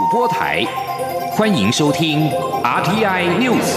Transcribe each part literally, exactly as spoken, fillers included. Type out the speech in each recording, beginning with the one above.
播台，欢迎收听 R T I News。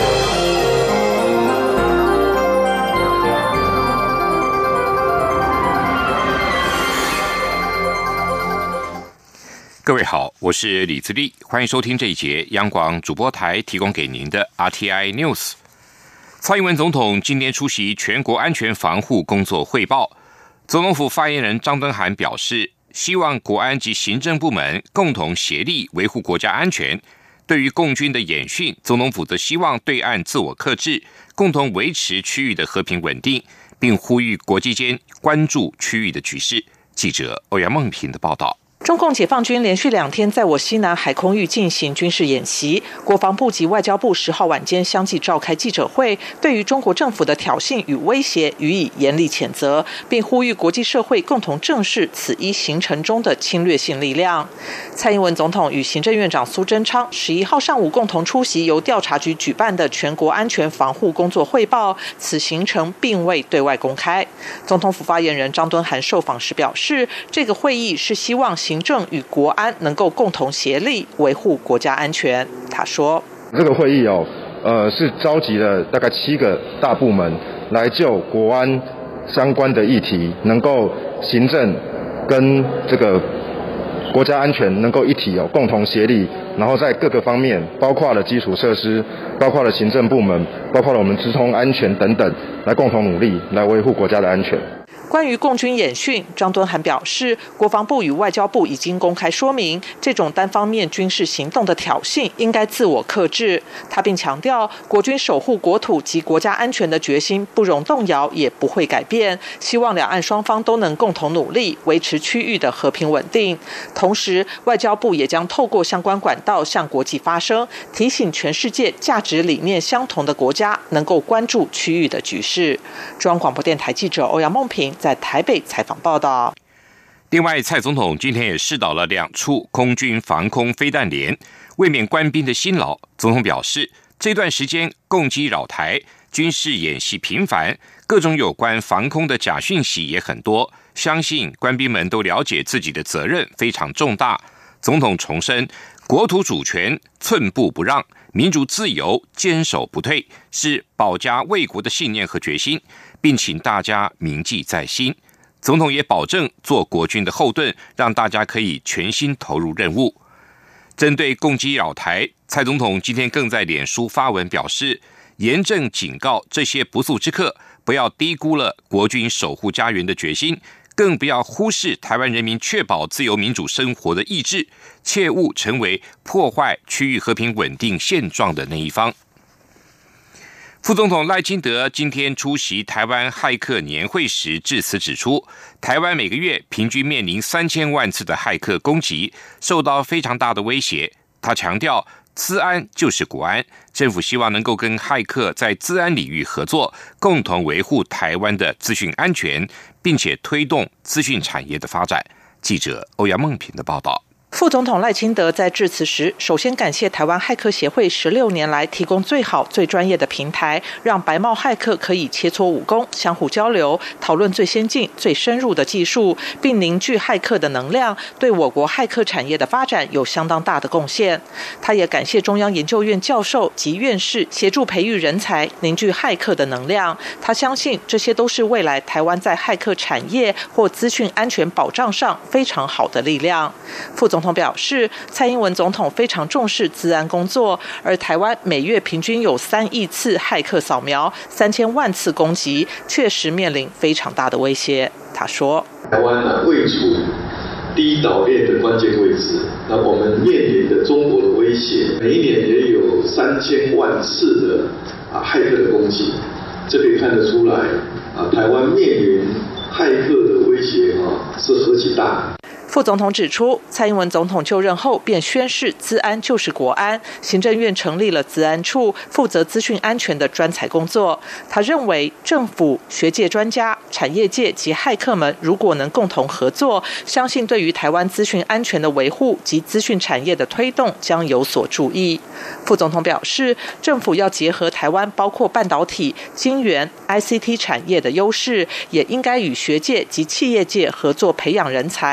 各位好，我是李自立，欢迎收听这一节央广主播台提供给您的 R T I News。蔡英文总统今天出席全国安全防护工作汇报，总统府发言人张敦涵表示，希望国安及行政部门共同协力维护国家安全。对于共军的演训，总统府则希望对岸自我克制，共同维持区域的和平稳定，并呼吁国际间关注区域的局势。记者欧阳梦平的报道。 中共解放军连续两天在我西南海空域进行军事演习，国防部及外交部十号晚间相继召开记者会，对于中国政府的挑衅与威胁予以严厉谴责，并呼吁国际社会共同正视此一行程中的侵略性力量。蔡英文总统与行政院长苏贞昌十一号上午共同出席由调查局举办的全国安全防护工作汇报，此行程并未对外公开。总统府发言人张敦涵受访时表示，这个会议是希望行政与国安能够共同协力维护国家安全。他说， 这个会议哦，呃，是召集了大概七个大部门来就国安相关的议题，能够行政跟这个国家安全能够一体哦，共同协力，然后在各个方面，包括了基础设施，包括了行政部门，包括了我们直通安全等等，来共同努力来维护国家的安全。 关于共军演训，张敦涵表示，国防部与外交部已经公开说明，这种单方面军事行动的挑衅应该自我克制。他并强调，国军守护国土及国家安全的决心不容动摇，也不会改变。希望两岸双方都能共同努力，维持区域的和平稳定。同时，外交部也将透过相关管道向国际发声，提醒全世界价值理念相同的国家能够关注区域的局势。中央广播电台记者欧阳梦平在台北采访报道。 另外，蔡总统今天也视导了两处空军防空飞弹连，为免官兵的辛劳，总统表示，这段时间共机扰台，军事演习频繁，各种有关防空的假讯息也很多，相信官兵们都了解自己的责任非常重大。总统重申，国土主权寸步不让，民主自由坚守不退，是保家卫国的信念和决心，并请大家铭记在心。总统也保证做国军的后盾，让大家可以全心投入任务。针对共机扰台，蔡总统今天更在脸书发文表示，严正警告这些不速之客，不要低估了国军守护家园的决心，更不要忽视台湾人民确保自由民主生活的意志，切勿成为破坏区域和平稳定现状的那一方。副总统赖清德今天出席台湾骇客年会时致辞指出，台湾每个月平均面临三千万次的骇客攻击，受到非常大的威胁。他强调，资安就是国安，政府希望能够跟骇客在资安领域合作，共同维护台湾的资讯安全，并且推动资讯产业的发展。记者欧阳梦平的报道。 副总统赖清德在致辞时，首先感谢台湾骇客协会十六年来提供最好、最专业的平台，让白帽骇客可以切磋武功，相互交流，讨论最先进、最深入的技术，并凝聚骇客的能量，对我国骇客产业的发展有相当大的贡献。他也感谢中央研究院教授及院士协助培育人才，凝聚骇客的能量。他相信这些都是未来台湾在骇客产业或资讯安全保障上非常好的力量。副总统表示，蔡英文总统非常重视资安工作，而台湾每月平均有三亿次骇客扫描，三千万次攻击，确实面临非常大的威胁。他说， 台湾呢位处第一岛链的关键位置，那我们面临的中国的威胁，每一年也有三千万次的啊骇客的攻击，这可以看得出来啊，台湾面临骇客的威胁啊是何其大。 副总统指出，蔡英文总统就任后便宣示资安就是国安，行政院成立了资安处，负责资讯安全的专才工作。他认为，政府、学界专家、产业界及骇客们如果能共同合作，相信对于台湾资讯安全的维护及资讯产业的推动将有所注意。副总统表示，政府要结合台湾包括半导体、晶圆、I C T 产业的优势，也应该与学界及企业界合作培养人才，活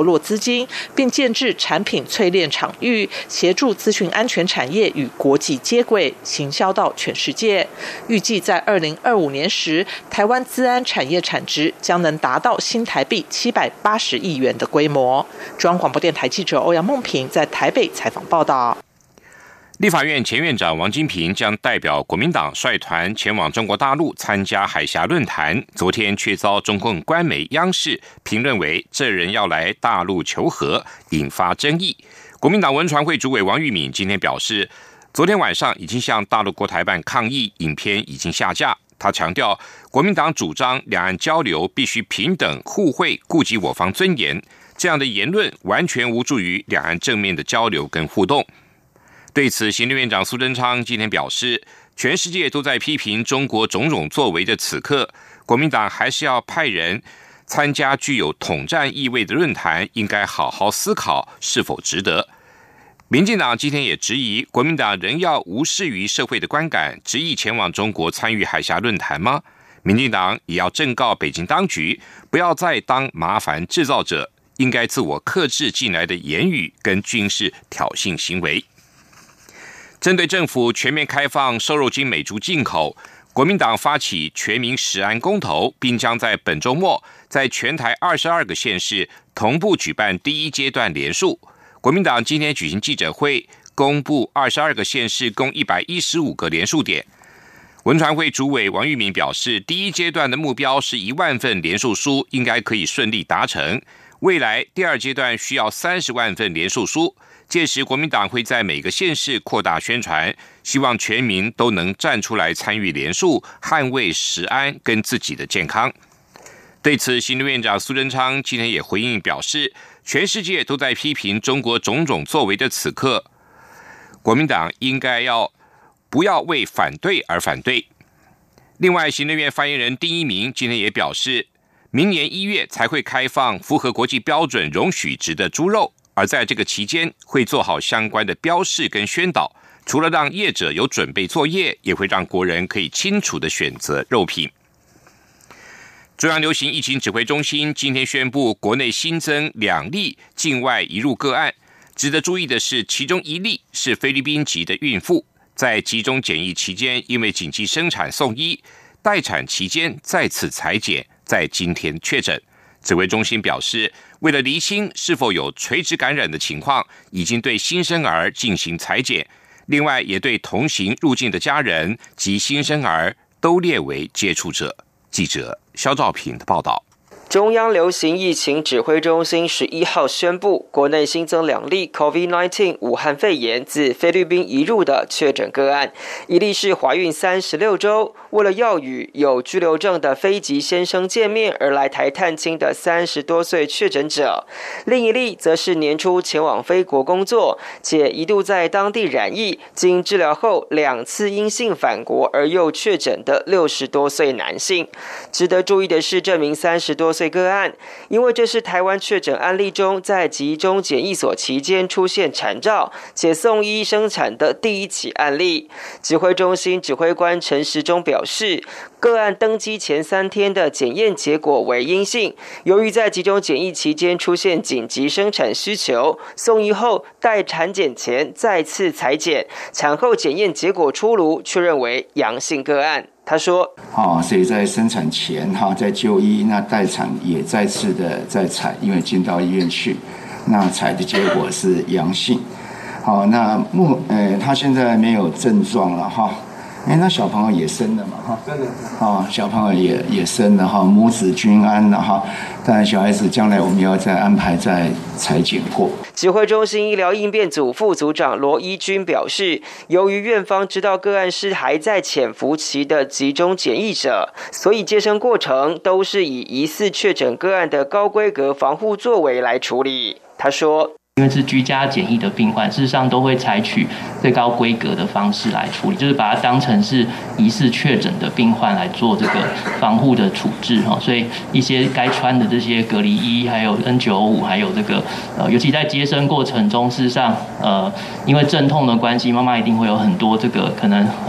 络资金，并建置产品淬炼场域，协助资讯安全产业与国际接轨，行销到全世界。预计在二零二五年时，台湾资安产业产值将能达到新台币七百八十亿元的规模。中央广播电台记者欧阳梦平在台北采访报道。 立法院前院长王金平将代表国民党率团前往中国大陆参加海峡论坛，昨天却遭中共官媒央视评论为这人要来大陆求和，引发争议。国民党文传会主委王玉敏今天表示，昨天晚上已经向大陆国台办抗议，影片已经下架。他强调，国民党主张两岸交流必须平等互惠，顾及我方尊严，这样的言论完全无助于两岸正面的交流跟互动。对此，行政院长苏贞昌今天表示，全世界都在批评中国种种作为的此刻，国民党还是要派人参加具有统战意味的论坛，应该好好思考是否值得。民进党今天也质疑，国民党仍要无视于社会的观感，执意前往中国参与海峡论坛吗？民进党也要正告北京当局，不要再当麻烦制造者，应该自我克制进来的言语跟军事挑衅行为。针对政府全面开放瘦肉精美猪进口，国民党发起全民食安公投，并将在本周末在全台二十二个县市同步举办第一阶段联署。国民党今天举行记者会，公布二十二个县市共一百一十五个联署点。文传会主委王玉敏表示，第一阶段的目标是一万份联署书，应该可以顺利达成。未来第二阶段需要三十万份联署书。届时，国民党会在每个县市扩大宣传，希望全民都能站出来参与联署，捍卫食安跟自己的健康。对此，行政院长苏贞昌今天也回应表示，全世界都在批评中国种种作为的此刻，国民党应该要不要为反对而反对。另外，行政院发言人丁一鸣今天也表示，明年一月才会开放符合国际标准容许值的猪肉。而在这个期间，会做好相关的标示跟宣导，除了让业者有准备作业，也会让国人可以清楚的选择肉品。中央流行疫情指挥中心今天宣布，国内新增两例境外移入个案。值得注意的是，其中一例是菲律宾籍的孕妇，在集中检疫期间因为紧急生产送医，待产期间再次采检，在今天确诊。指挥中心表示，为了厘清是否有垂直感染的情况，已经对新生儿进行采检，另外也对同行入境的家人及新生儿都列为接触者。记者肖兆平的报道。 中央流行疫情指挥中心十一号宣布，国内新增两例 COVID 十九 武汉肺炎自菲律宾移入的确诊个案，一例是怀孕三十六周，为了要与有居留证的非籍先生见面而来台探亲的三十多岁确诊者，另一例则是年初前往菲国工作，且一度在当地染疫，经治疗后两次阴性返国而又确诊的六十多岁男性。值得注意的是，这名三十多岁个案，因为这是台湾确诊案例中在集中检疫所期间出现产兆且送医生产的第一起案例。指挥中心指挥官陈时中表示，个案登机前三天的检验结果为阴性，由于在集中检疫期间出现紧急生产需求，送医后待产检前再次采检，产后检验结果出炉，确认为阳性个案。他说：“ 哦，所以在生产前哈，在就医，那待产也再次的再采，因为进到医院去，那采的结果是阳性。好，那目呃，他现在没有症状了哈。哎，那小朋友也生了嘛哈，真的啊，小朋友也也生了哈，母子均安了哈。但小孩子将来我们要再安排再采检过。” 指挥中心医疗应变组副组长罗一军表示，由于院方知道个案是还在潜伏期的集中检疫者，所以接生过程都是以疑似确诊个案的高规格防护作为来处理。他说， 因为是居家检疫的病患，事实上都会采取最高规格的方式来处理，就是把它当成是疑似确诊的病患来做这个防护的处置。所以一些该穿的这些隔离衣，还有 N 九十五，还有这个呃，尤其在接生过程中，事实上呃，因为阵痛的关系，妈妈一定会有很多这个可能呃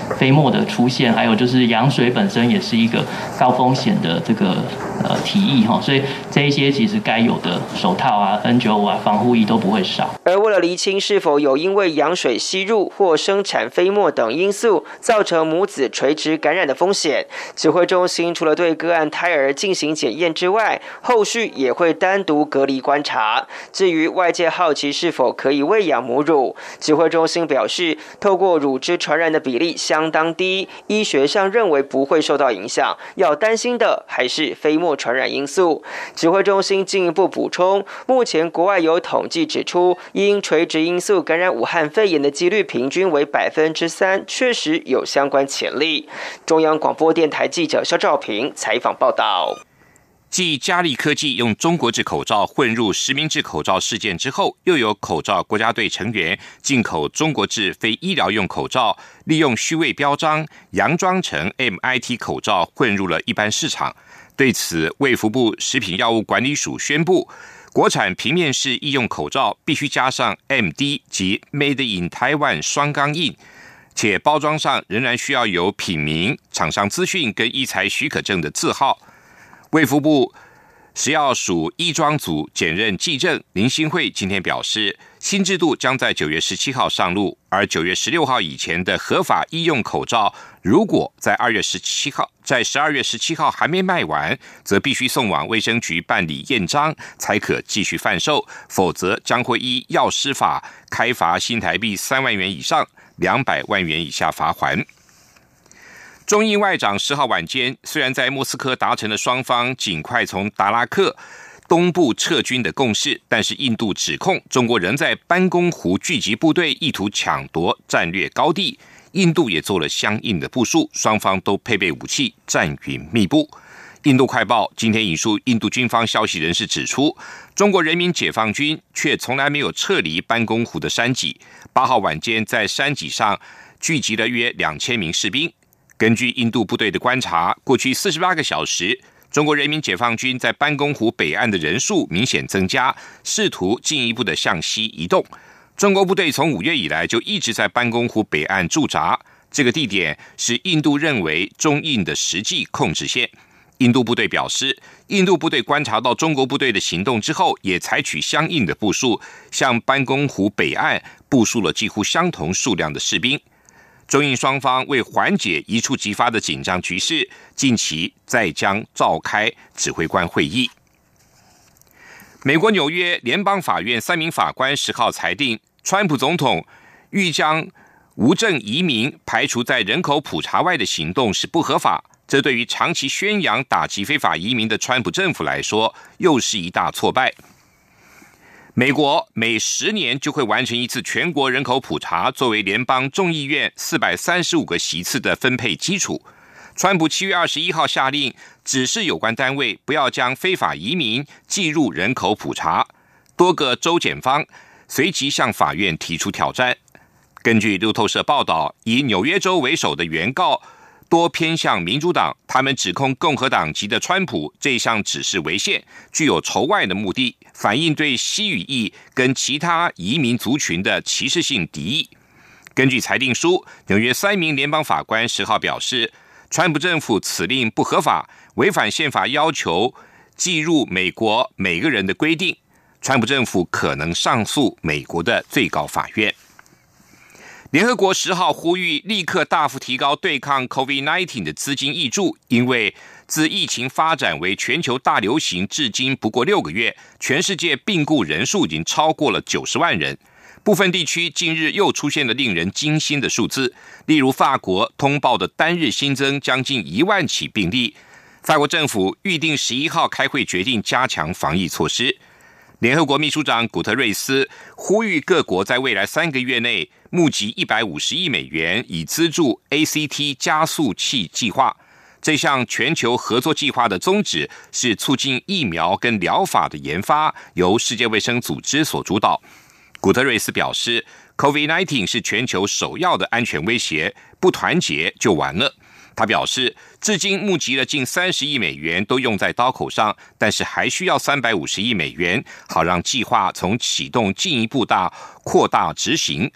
飞沫的出现，还有就是羊水本身也是一个高风险的这个呃体液哈，所以这一些其实该有的手套啊、N 九十五 啊、防护衣都不会少。 而为了厘清是否有因为羊水吸入或生产飞沫等因素造成母子垂直感染的风险，指挥中心除了对个案胎儿进行检验之外，后续也会单独隔离观察。至于外界好奇是否可以喂养母乳，指挥中心表示，透过乳汁传染的比例相当低，医学上认为不会受到影响，要担心的还是飞沫传染因素。指挥中心进一步补充，目前国外有统计指出，因垂直因素感染武汉肺炎的几率平均为百分之三，确实有相关潜力。中央广播电台记者肖兆平采访报道。 继嘉利科技用中国制口罩混入实名制口罩事件之后，又有口罩国家队成员进口中国制非医疗用口罩，利用虚伪标章佯装成 M I T 口罩混入了一般市场。对此，卫福部食品药物管理署宣布，国产平面式医用口罩必须加上 M D 及 Made in Taiwan 双钢印，且包装上仍然需要有品名、厂商资讯跟医材许可证的字号。卫福部食药署医装组检任技正林新慧今天表示，新制度将在九月十七号上路，而九月十六号以前的合法医用口罩，如果在二月十七号在十二月十七号还没卖完，则必须送往卫生局办理验章，才可继续贩售，否则将会依药师法开罚新台币三万元以上两百万元以下罚锾。中印外长十号晚间虽然在莫斯科达成了双方尽快从达拉克东部撤军的共识，但是印度指控中国仍在班公湖聚集部队，意图抢夺战略高地。印度也做了相应的部署，双方都配备武器，战云密布。印度快报今天引述印度军方消息人士指出，中国人民解放军却从来没有撤离班公湖的山脊，八号晚间在山脊上聚集了约两千名士兵。根据印度部队的观察，过去四十八个小时，中国人民解放军在班公湖北岸的人数明显增加，试图进一步的向西移动。中国部队从五月以来就一直在班公湖北岸驻扎，这个地点是印度认为中印的实际控制线。印度部队表示，印度部队观察到中国部队的行动之后，也采取相应的部署，向班公湖北岸部署了几乎相同数量的士兵。中印双方为缓解一触即发的紧张局势，近期再将召开指挥官会议。美国纽约联邦法院三名法官十号裁定，川普总统欲将无证移民排除在人口普查外的行动是不合法，这对于长期宣扬打击非法移民的川普政府来说，又是一大挫败。美国每十年就会完成一次全国人口普查，作为联邦众议院四百三十五个席次的分配基础。川普七月二十一号下令，指示有关单位不要将非法移民计入人口普查。多个州检方随即向法院提出挑战。根据路透社报道，以纽约州为首的原告多偏向民主党，他们指控共和党籍的川普这项指示违宪，具有仇外的目的，反映对西语裔跟其他移民族群的歧视性敌意。根据裁定书，纽约三名联邦法官十号表示，川普政府此令不合法，违反宪法要求计入美国每个人的规定。川普政府可能上诉美国的最高法院。联合国十号呼吁立刻大幅提高对抗 COVID 十九 的资金挹注，因为自疫情发展为全球大流行至今不过六个月，全世界病故人数已经超过了九十万人。部分地区近日又出现了令人惊心的数字，例如法国通报的单日新增将近一万起病例。法国政府预定十一号开会决定加强防疫措施。联合国秘书长古特瑞斯呼吁各国在未来三个月内募集一百五十亿美元，以资助 A C T 加速器计划。这项全球合作计划的宗旨是促进疫苗跟疗法的研发，由世界卫生组织所主导。古特瑞斯表示 ，COVID 十九 是全球首要的安全威胁，不团结就完了。他表示，至今募集了近三十亿美元，都用在刀口上，但是还需要三百五十亿美元，好让计划从启动进一步大扩大执行。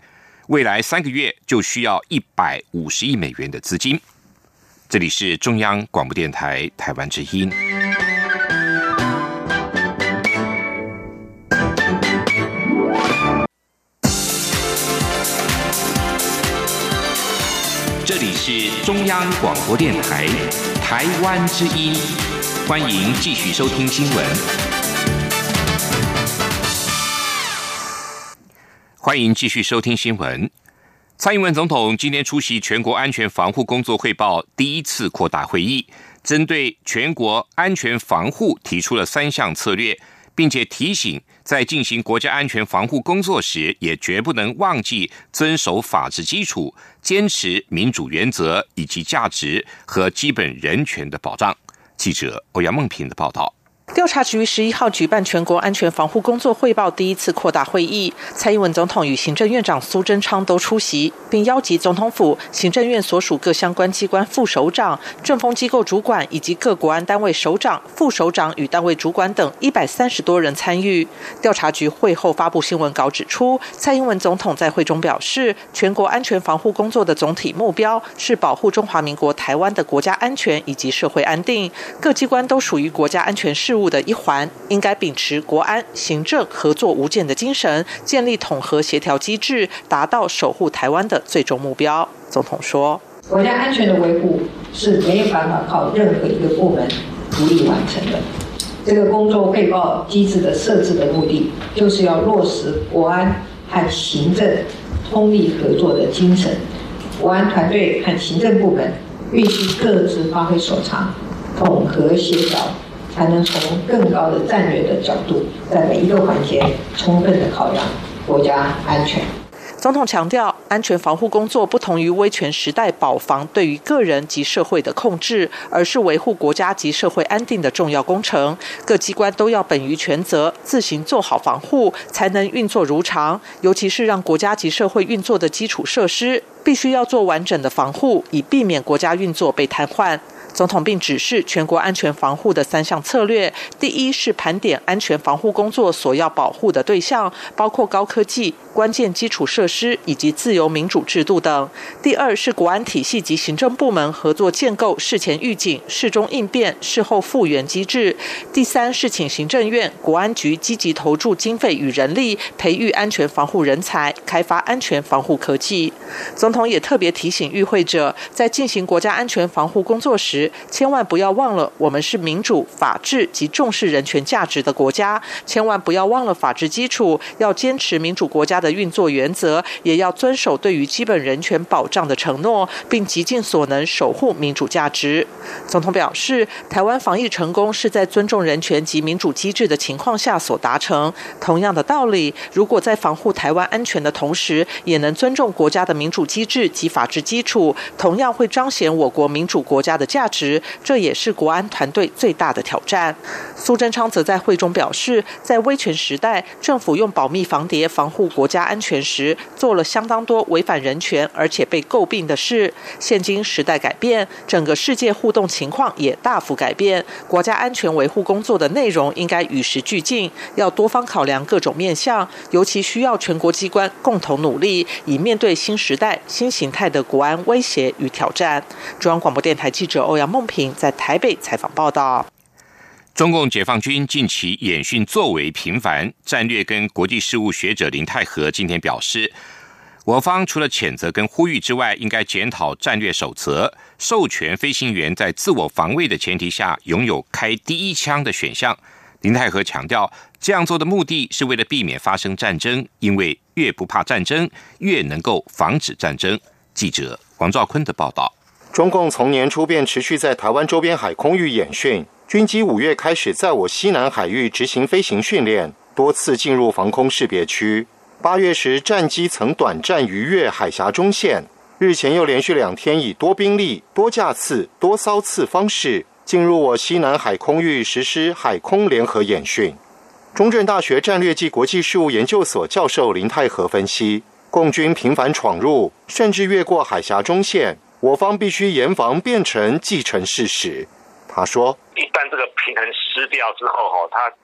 未来三个月就需要一百五十亿美元的资金。这里是中央广播电台台湾之音。这里是中央广播电台台湾之音，欢迎继续收听新闻。欢迎继续收听新闻。蔡英文总统今天出席全国安全防护工作汇报第一次扩大会议，针对全国安全防护提出了三项策略，并且提醒在进行国家安全防护工作时，也绝不能忘记遵守法治基础，坚持民主原则以及价值和基本人权的保障。记者欧阳梦平的报道。 调查局十一号举办全国安全防护工作汇报第一次扩大会议，蔡英文总统与行政院长苏贞昌都出席，并邀集总统府、行政院所属各相关机关副首长、政风机构主管以及各国安单位首长、副首长与单位主管等一百三十多人参与。调查局会后发布新闻稿指出，蔡英文总统在会中表示，全国安全防护工作的总体目标是保护中华民国台湾的国家安全以及社会安定，各机关都属于国家安全事务的一环，应该秉持国安、行政合作无间的精神，建立统合协调机制，达到守护台湾的最终目标。总统说， 国家安全的维护是没有办法靠任何一个部门独立完成的。这个工作汇报机制的设置的目的，就是要落实国安和行政通力合作的精神。国安团队和行政部门必须各自发挥所长，统合协调，才能从更高的战略的角度，在每一个环节充分的考量国家安全。 总统强调，安全防护工作不同于威权时代保防对于个人及社会的控制，而是维护国家及社会安定的重要工程。各机关都要本于权责，自行做好防护，才能运作如常。尤其是让国家及社会运作的基础设施，必须要做完整的防护，以避免国家运作被瘫痪。总统并指示全国安全防护的三项策略，第一是盘点安全防护工作所要保护的对象，包括高科技、关键基础设施以及自由民主制度等；第二是国安体系及行政部门合作建构事前预警、事中应变、事后复原机制；第三是请行政院、国安局积极投注经费与人力，培育安全防护人才，开发安全防护科技。总统也特别提醒与会者，在进行国家安全防护工作时，千万不要忘了我们是民主、法治及重视人权价值的国家，千万不要忘了法治基础，要坚持民主国家的运作原则，也要遵守对于基本人权保障的承诺，并极尽所能守护民主价值。总统表示，台湾防疫成功是在尊重人权及民主机制的情况下所达成。同样的道理，如果在防护台湾安全的同时，也能尊重国家的民主机制及法治基础，同样会彰显我国民主国家的价值，这也是国安团队最大的挑战。苏贞昌则在会中表示，在威权时代，政府用保密防谍防护国家安全时，做了相当多违反人权而且被诟病的事。现今时代改变，整个世界互动情况也大幅改变，国家安全维护工作的内容应该与时俱进，要多方考量各种面向，尤其需要全国机关共同努力，以面对新时代新形态的国安威胁与挑战。中央广播电台记者欧阳梦平在台北采访报道。 中共解放军近期演训作为频繁，战略跟国际事务学者林泰和今天表示，我方除了谴责跟呼吁之外，应该检讨战略守则，授权飞行员在自我防卫的前提下拥有开第一枪的选项。林泰和强调，这样做的目的是为了避免发生战争，因为越不怕战争，越能够防止战争。记者王兆坤的报道。 中共从年初便持续在台湾周边海空域演训，军机五月开始在我西南海域执行飞行训练，多次进入防空识别区。八月时，战机曾短暂逾越海峡中线，日前又连续两天以多兵力、多架次、多骚次方式进入我西南海空域实施海空联合演训。中正大学战略暨国际事务研究所教授林泰和分析，共军频繁闯入，甚至越过海峡中线，我方必须严防变成既成事实。他说， 一旦这个平衡失掉之后，它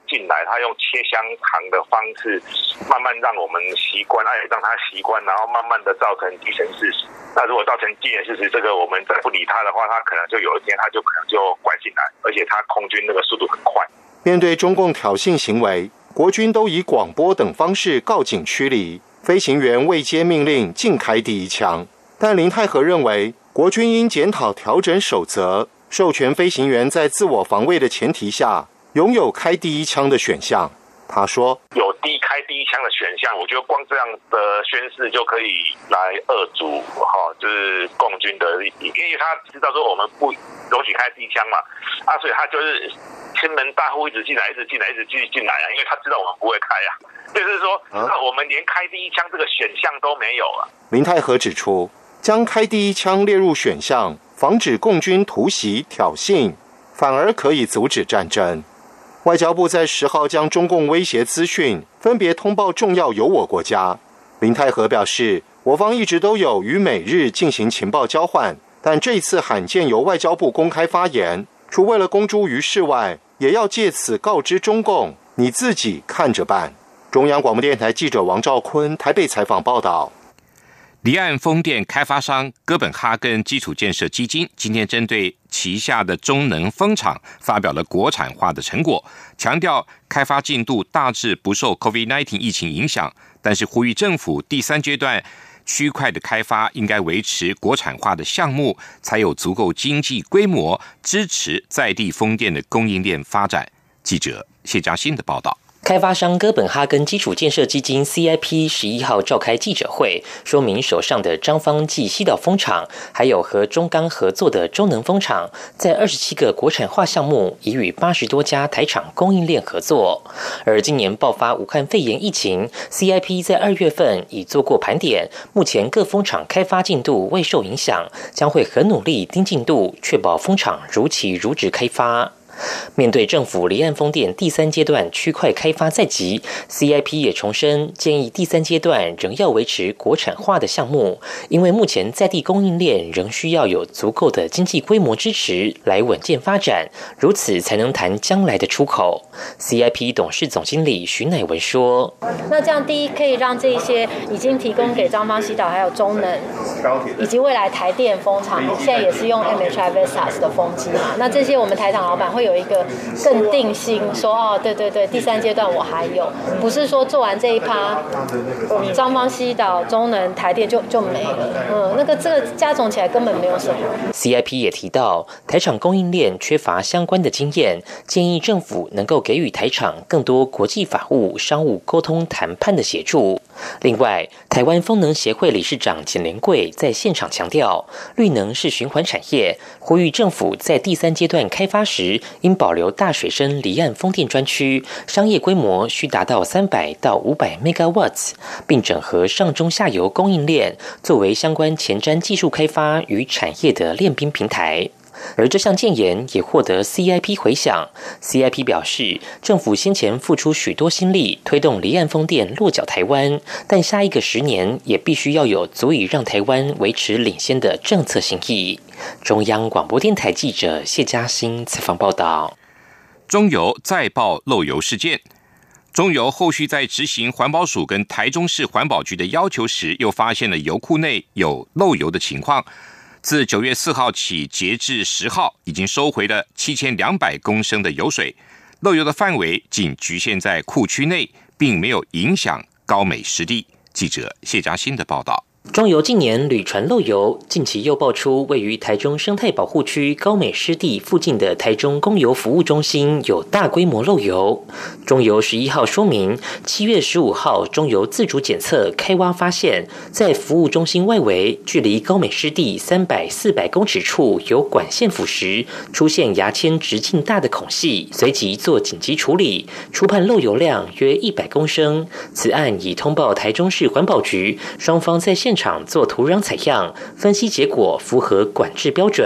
进来，他用切香肠的方式，慢慢让我们习惯，哎，让他习惯，然后慢慢的造成既成事实。那如果造成既成事实，这个我们再不理他的话，他可能就有一天他就可能就拐进来，而且他空军那个速度很快。 面对中共挑衅行为，国军都以广播等方式告警驱离，飞行员未接命令尽开第一枪。但林泰和认为，国军应检讨调整守则，授权飞行员在自我防卫的前提下，拥有开第一枪的选项。他说， 有第开第一枪的选项，我觉得光这样的宣示就可以来遏阻哈，就是共军的，因为他知道说我们不容许开第一枪嘛，啊，所以他就是千门大户一直进来，一直进来，一直继续进来啊，因为他知道我们不会开啊，就是说，那我们连开第一枪这个选项都没有了。 林泰和指出，将开第一枪列入选项，防止共军突袭挑衅，反而可以阻止战争。外交部在十号将中共威胁资讯分别通报重要友我国家。林泰和表示，我方一直都有与美日进行情报交换，但这次罕见由外交部公开发言，除为了公诸于世外，也要借此告知中共，你自己看着办。中央广播电台记者王兆坤台北采访报道。 离岸风电开发商哥本哈根基础建设基金今天针对旗下的中能风场发表了国产化的成果，强调开发进度大致不受 COVID 十九 疫情影响，但是呼吁政府第三阶段区块的开发应该维持国产化的项目，才有足够经济规模支持在地风电的供应链发展。记者谢嘉欣的报道。 开发商哥本哈根基础建设基金 C I P 十一号召开记者会，说明手上的彰芳暨西岛风场，还有和中钢合作的中能风场，在二十七个国产化项目已与八十多家台厂供应链合作。而今年爆发武汉肺炎疫情 ，C I P 在二月份已做过盘点，目前各风场开发进度未受影响，将会很努力盯进度，确保风场如期如质开发。面对政府离岸风电第三阶段区块开发在即 ，C I P 也重申建议第三阶段仍要维持国产化的项目，因为目前在地供应链仍需要有足够的经济规模支持来稳健发展，如此才能谈将来的出口。C I P 董事总经理徐乃文说：“ 那这样第一可以让这些已经提供给彰芳西岛还有中能以及未来台电风场，现在也是用 M H I Vestas 的风机嘛，那这些我们台厂老板会有一个更定心，说哦，对对对，第三阶段我还有，不是说做完这一趴，彰芳西岛、中能、台电就就没了。嗯，那个这个加总起来根本没有什么。 C I P 也提到，台厂供应链缺乏相关的经验，建议政府能够给予台厂更多国际法务、商务沟通谈判的协助。另外，台湾风能协会理事长简连贵在现场强调，绿能是循环产业，呼吁政府在第三阶段开发时，应保留大水深离岸风电专区，商业规模需达到三百到五百 megawatts， 并整合上中下游供应链，作为相关前瞻技术开发与产业的练兵平台。而这项建言也获得 C I P 回响。C I P 表示，政府先前付出许多心力推动离岸风电落脚台湾，但下一个十年也必须要有足以让台湾维持领先的政策心意。中央广播电台记者谢嘉欣采访报道。 中油再爆漏油事件，中油后续在执行环保署跟台中市环保局的要求时，又发现了油库内有漏油的情况。自九月四号起，截至十号，已经收回了七千两百公升的油水，漏油的范围仅局限在库区内，并没有影响高美湿地。记者谢嘉欣的报道。 中油近年屡传漏油，近期又爆出位于台中生态保护区高美湿地附近的台中供油服务中心有大规模漏油。中油十一号说明，七月十五号中油自主检测开挖发现，在服务中心外围距离高美湿地三百、四百公尺处有管线腐蚀，出现牙签直径大的孔隙，随即做紧急处理，初判漏油量约一百公升。此案已通报台中市环保局，双方在现场做土壤采样，分析结果符合管制标准。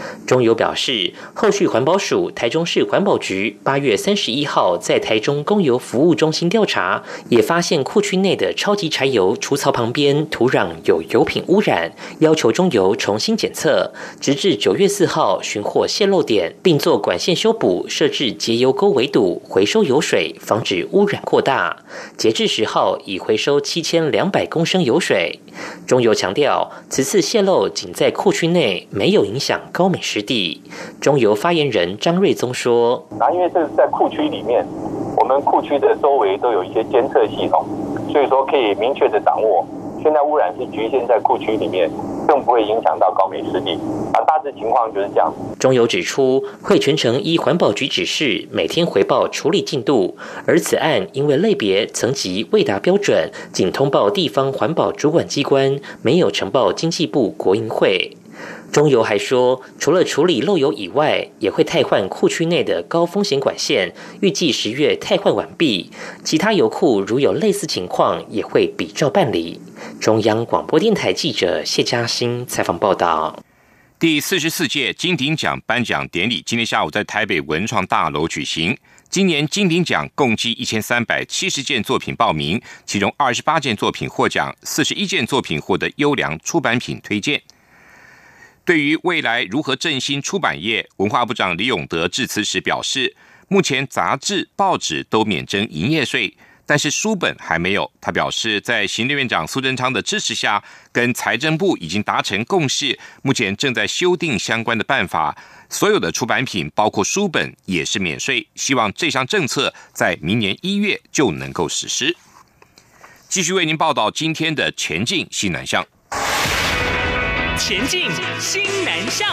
中油表示，后续环保署台中市环保局八月三十一号在台中公油服务中心调查，也发现库区内的超级柴油除槽旁边土壤有油品污染，要求中油重新检测，直至九月四号寻获泄漏点，并做管线修补，设置节油沟围堵，回收油水，防止污染扩大。截至十号，已回收七千两百公升油水。中油强调，此次泄漏仅在库区内，没有影响高美湿地。中油发言人张瑞宗说：“ 那因为这是在库区里面，我们库区的周围都有一些监测系统，所以说可以明确的掌握。现在污染是局限在库区里面，更不会影响到高美湿地。啊，大致情况就是这样。” 中油指出，会全程依环保局指示，每天回报处理进度。而此案因为类别层级未达标准，仅通报地方环保主管机关，没有呈报经济部国营会。中油还说，除了处理漏油以外，也会汰换库区内的高风险管线，预计十月汰换完毕。其他油库如有类似情况，也会比照办理。中央广播电台记者谢嘉欣采访报道。 第四十四届金鼎奖颁奖典礼今天下午在台北文创大楼举行。今年金鼎奖共计一千三百七十件作品报名，其中二十八件作品获奖，四十一件作品获得优良出版品推荐。对于未来如何振兴出版业，文化部长李永得致辞时表示，目前杂志、报纸都免征营业税，但是书本还没有。他表示，在行政院长苏贞昌的支持下，跟财政部已经达成共识，目前正在修订相关的办法，所有的出版品包括书本也是免税，希望这项政策在明年一月就能够实施。继续为您报道今天的前进西南向。 前进新南向。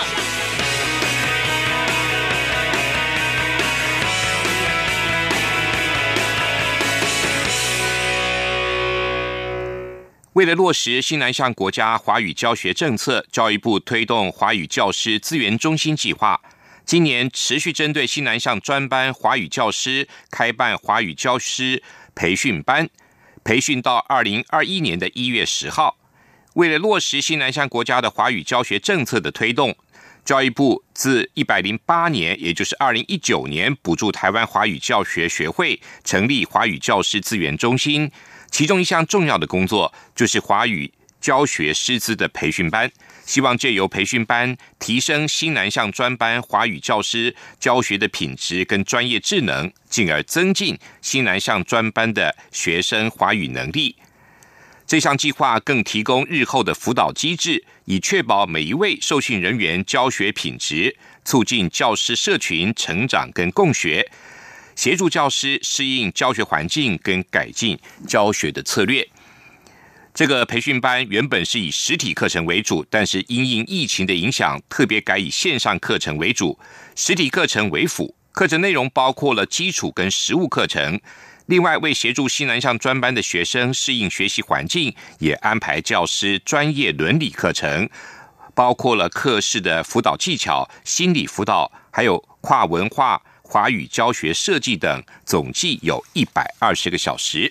为了落实新南向国家华语教学政策，教育部推动华语教师资源中心计划，今年持续针对新南向专班华语教师开办华语教师培训班，培训到二零二一年的一月十号。为了落实新南向国家的华语教学政策的推动，教育部自一百零八年，也就是二零一九年，补助台湾华语教学学会成立华语教师资源中心，其中一项重要的工作就是华语教学师资的培训班，希望借由培训班提升新南向专班华语教师教学的品质跟专业智能，进而增进新南向专班的学生华语能力。这项计划更提供日后的辅导机制，以确保每一位受训人员教学品质，促进教师社群成长跟共学，协助教师适应教学环境跟改进教学的策略。这个培训班原本是以实体课程为主，但是因应疫情的影响，特别改以线上课程为主，实体课程为辅。课程内容包括了基础跟实务课程。另外，为协助新南向专班的学生适应学习环境，也安排教师专业伦理课程，包括了课室的辅导技巧、心理辅导，还有跨文化、华语教学设计等，总计有一百二十个小时。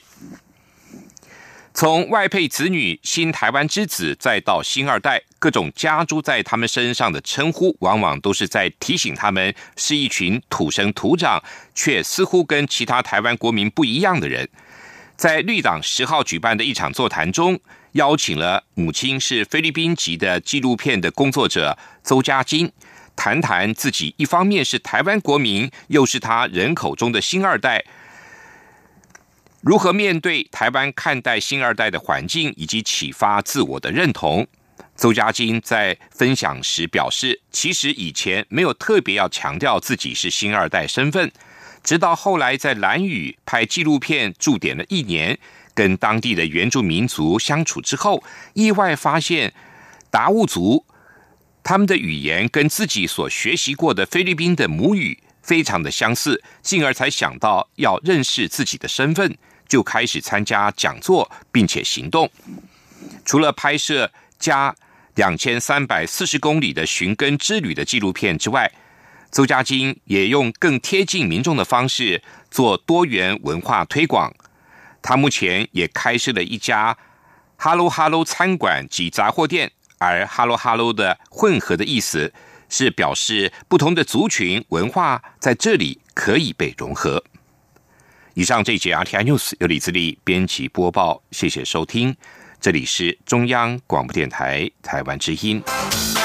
从外配子女、新台湾之子，再到新二代，各种加诸在他们身上的称呼，往往都是在提醒他们是一群土生土长，却似乎跟其他台湾国民不一样的人。在绿党十号举办的一场座谈中，邀请了母亲是菲律宾籍的纪录片的工作者邹家金，谈谈自己一方面是台湾国民，又是他人口中的新二代，如何面对台湾看待新二代的环境，以及启发自我的认同。邹家金在分享时表示，其实以前没有特别要强调自己是新二代身份，直到后来在兰屿拍纪录片驻点了一年，跟当地的原住民族相处之后，意外发现达悟族他们的语言跟自己所学习过的菲律宾的母语非常的相似，进而才想到要认识自己的身份，就开始参加讲座，并且行动。除了拍摄加两千三百四十公里的寻根之旅的纪录片之外，邹家金也用更贴近民众的方式做多元文化推广。他目前也开设了一家哈喽哈喽餐馆及杂货店，而哈喽哈喽的混合的意思是表示不同的族群文化在这里可以被融合。以上这一节 R T I News 由李自力编辑播报，谢谢收听，这里是中央广播电台台湾之音。